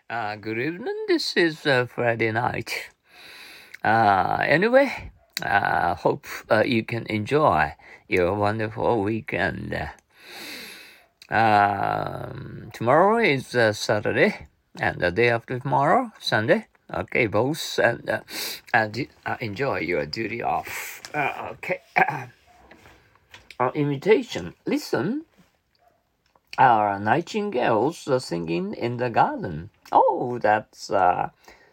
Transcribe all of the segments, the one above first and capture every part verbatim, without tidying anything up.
Uh, good evening. This is uh, Friday night. Uh, anyway, uh, hope uh, you can enjoy your wonderful weekend. Um, tomorrow is uh, Saturday, and the day after tomorrow, Sunday. Okay, both and uh, and uh, enjoy your duty off. Uh, okay. uh, invitation. Listen, our nightingales are singing in the garden. Oh, that's uh,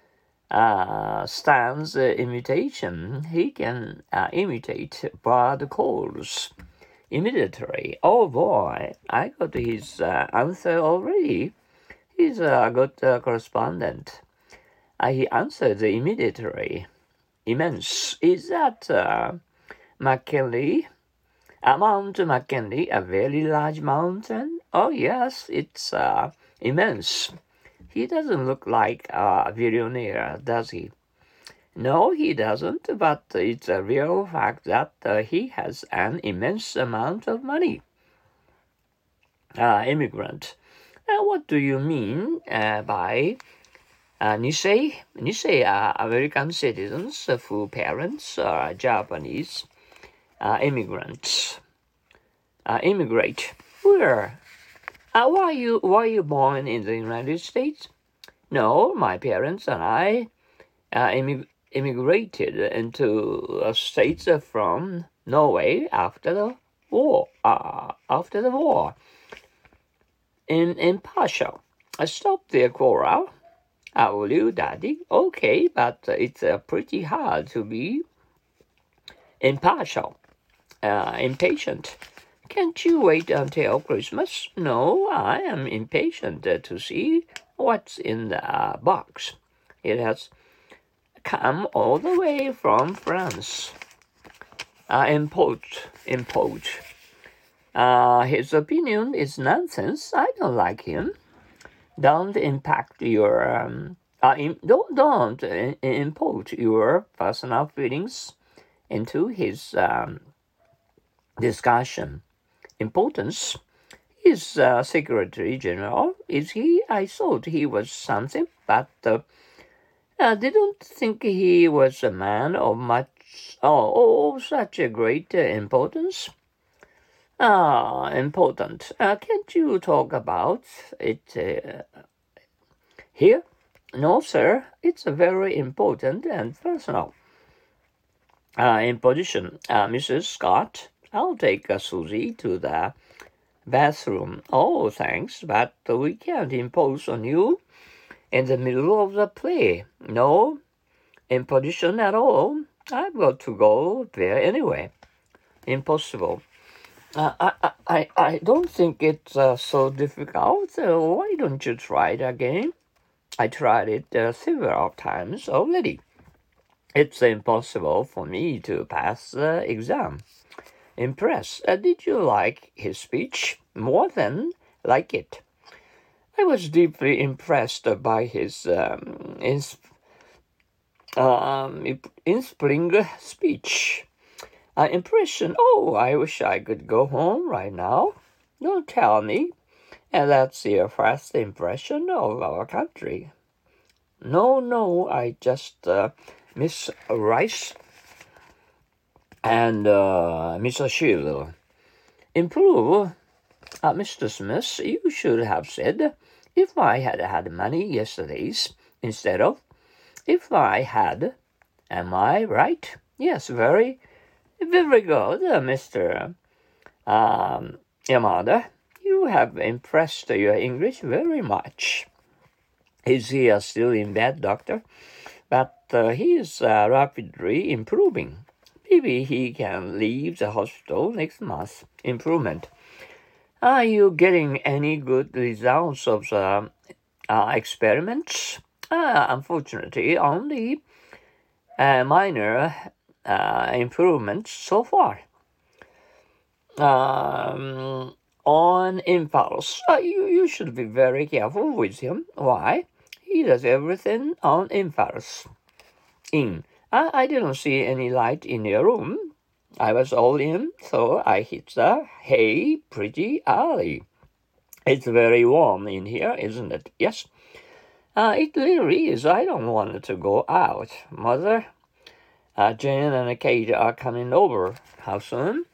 uh, Stan's uh, imitation. He can uh, imitate bird calls immediately. Oh boy, I got his uh, answer already. He's a good uh, correspondent. Uh, he answered immediately. Immense. Is that uh, McKinley? Uh, Mount McKinley, a very large mountain? Oh yes, it's uh, immense. He doesn't look like a billionaire, does he? No, he doesn't, but it's a real fact that uh, he has an immense amount of money. Uh, immigrant. Uh, what do you mean uh, by uh, Nisei? Nisei are American citizens whose parents are Japanese uh, immigrants. Uh, immigrate. Where? Uh, were you were you born in the United States? No, my parents and I uh, immig- immigrated into the States from Norway after the war. Uh, after the war. In impartial. I stopped the quarrel. Uh, will you, Daddy? Okay, but it's uh, pretty hard to be impartial, uh, impatient. Can't you wait until Christmas? No, I am impatient uh, to see what's in the uh, box. It has come all the way from France. Uh, import, import. Uh, his opinion is nonsense. I don't like him. Don't impact your um, uh, in, don't don't uh, import your personal feelings into his um, discussion. Importance. He's uh, Secretary General, is he? I thought he was something, but uh, I didn't think he was a man of much, oh, oh such a great uh, importance. Ah, important. Uh, can't you talk about it uh, here? No, sir. It's very important and personal. Uh, imposition. Uh, Missus Scott, I'll take uh, Susie to the bathroom. Oh, thanks, but we can't impose on you in the middle of the play. No imposition at all. I've got to go there anyway. Impossible. Uh, I, I, I don't think it's uh, so difficult. Uh, why don't you try it again? I tried it uh, several times already. It's impossible for me to pass the exam. Impressed. Uh, did you like his speech? More than like it. I was deeply impressed by his um, ins- um, inspiring speech. Uh, impression. Oh, I wish I could go home right now. Don't tell me. And that's your first impression of our country. No, no, I just uh, miss Rice and uh, Miss Shield. Improve. Uh, Mister Smith, you should have said, if I had had money yesterday's instead of, if I had. Am I right? Yes, very, very good, uh, Mister Um, Yamada. You have impressed your English very much. Is he uh, still in bed, doctor? But uh, he is uh, rapidly improving. Maybe he can leave the hospital next month. Improvement. Are you getting any good results of the uh, experiments? Uh, unfortunately, only uh, minor uh, improvements so far. Um, on impulse. Uh, you, you should be very careful with him. Why? He does everything on impulse. In. I, I didn't see any light in your room. I was all in, so I hit the hay pretty early. It's very warm in here, isn't it? Yes. Uh, it really is. I don't want to go out. Mother, uh, Jane and Kate are coming over. How soon?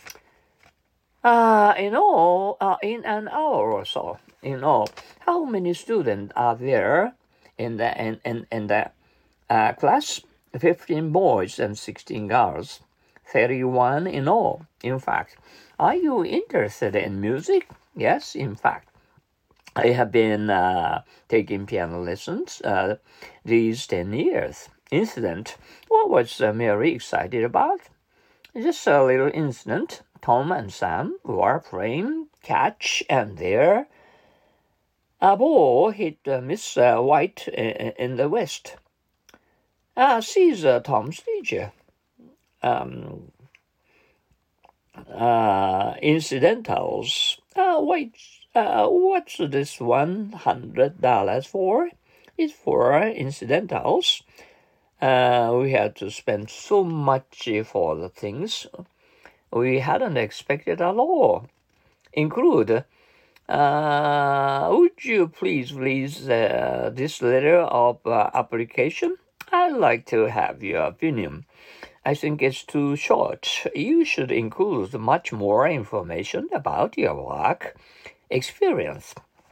Uh, in all, uh, in an hour or so. In all, how many students are there in the in in, in the uh, class? Fifteen boys and sixteen girls. Thirty-one in all. In fact, are you interested in music? Yes, in fact. I have been uh, taking piano lessons uh, these ten years. Incident. What was uh, Mary excited about? Just a little incident. Tom and Sam were playing catch, and there a ball hit uh, Miss uh, White in, in the west. Uh, she's uh, Tom's teacher. Um, uh, incidentals. Uh, wait, uh, what's this one hundred dollars for? It's for incidentals. Uh, we had to spend so much for the things we hadn't expected at all. Include, uh, would you please please uh, this letter of uh, application? I'd like to have your opinion. I think it's too short. You should include much more information about your work experience.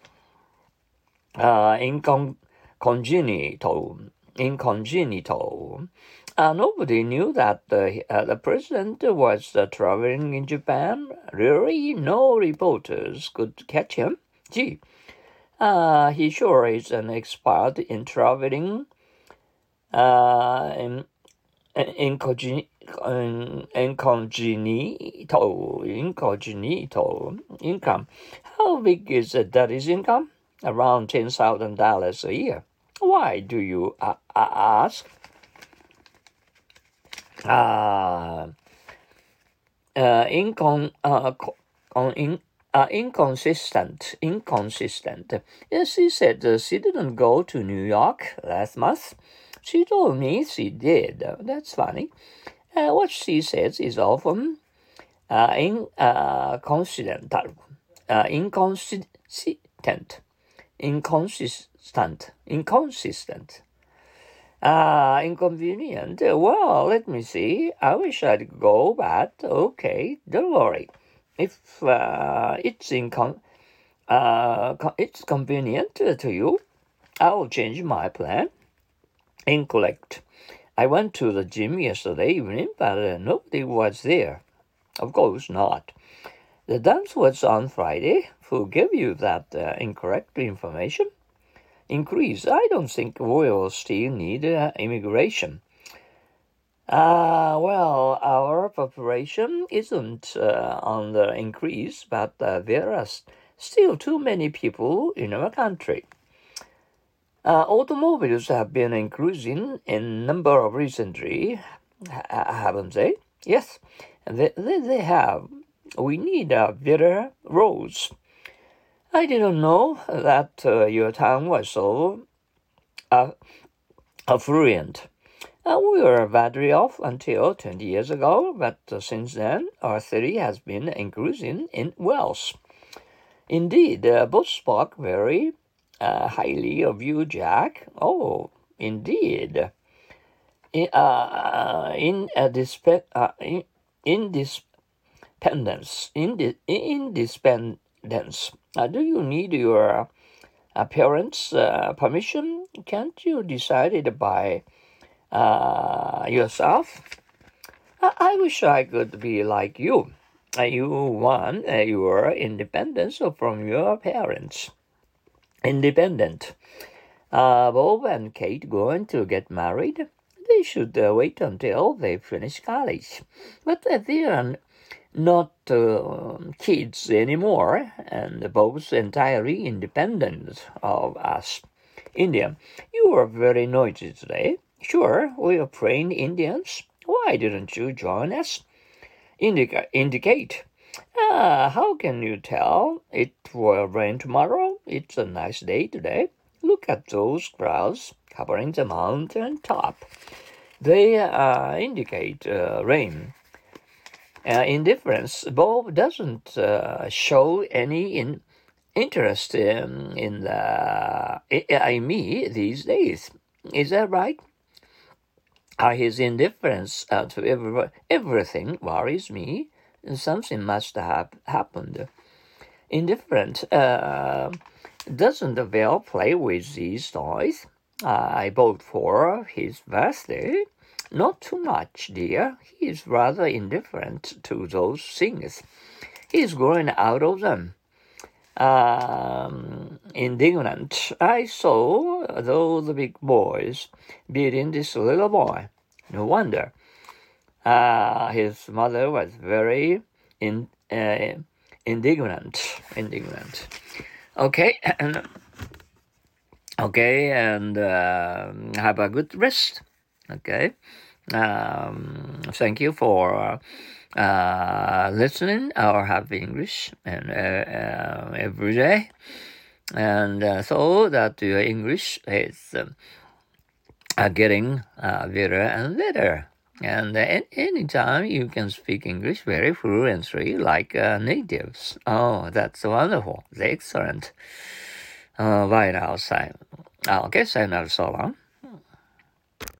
Uh, incon- congenital, incongenital. Uh, nobody knew that the, uh, the president was uh, traveling in Japan. Really, no reporters could catch him. Gee, uh, he sure is an expert in traveling. Uh, in, Incognito, incognito, incognito income. How big is that his income? Around ten thousand dollars a year. Why do you uh, ask? Uh, uh, incon, uh, on in, uh, inconsistent, inconsistent. Yes, she said uh, she didn't go to New York last month. She told me she did. That's funny. Uh, what she says is often uh, inconsistent, uh, inconsistent, inconsistent, inconsistent. Uh, inconvenient. Well, let me see. I wish I'd go, but okay, don't worry. If uh, it's incon, uh, it's convenient to you, I'll change my plan. Incorrect. I went to the gym yesterday evening, but uh, nobody was there. Of course not. The dance was on Friday. Who gave you that uh, incorrect information? Increase. I don't think we'll still need uh, immigration. Ah, uh, well, our population isn't uh, on the increase, but uh, there are still too many people in our country. Uh, automobiles have been increasing in number of recently, haven't they? Yes, they, they, they have. We need uh, better roads. I didn't know that uh, your town was so uh, affluent. Uh, we were badly off until twenty years ago, but uh, since then, our city has been increasing in wealth. Indeed, uh, both spoke very uh, highly of you, Jack. Oh, indeed. In, uh, in, uh, disp- uh, in, in independence, in, the, independence. Uh, do you need your uh, parents' uh, permission? Can't you decide it by uh, yourself? I, I wish I could be like you. Uh, you want uh, your independence from your parents. Independent. Uh, Bob and Kate going to get married? They should uh, wait until they finish college. But uh, they are not uh, kids anymore, and both entirely independent of us. Indian, you are very noisy today. Sure, we are praying Indians. Why didn't you join us? Indica- indicate. Ah, how can you tell? It will rain tomorrow. It's a nice day today. Look at those clouds covering the mountain top. They uh, indicate uh, rain. Uh, indifference. Bob doesn't uh, show any in, interest in, in the in me these days. Is that right? Uh, his indifference uh, to every, everything worries me. Something must have happened. Indifferent. Uh, doesn't Val play with these toys? Uh, I bought for his birthday. Not too much, dear. He is rather indifferent to those things. He is growing out of them. Um, indignant. I saw those big boys beating this little boy. No wonder. Uh, his mother was very in, uh, indignant. Indignant. Okay, and okay, and uh, have a good rest. Okay. Um, thank you for uh, listening or have English and uh, uh, every day, and uh, so that your English is um, uh, getting uh, better and better. And uh, anytime you can speak English very fluently like uh, natives. Oh, that's wonderful. Excellent. Uh, bye now, Simon. Okay, sayonara so long.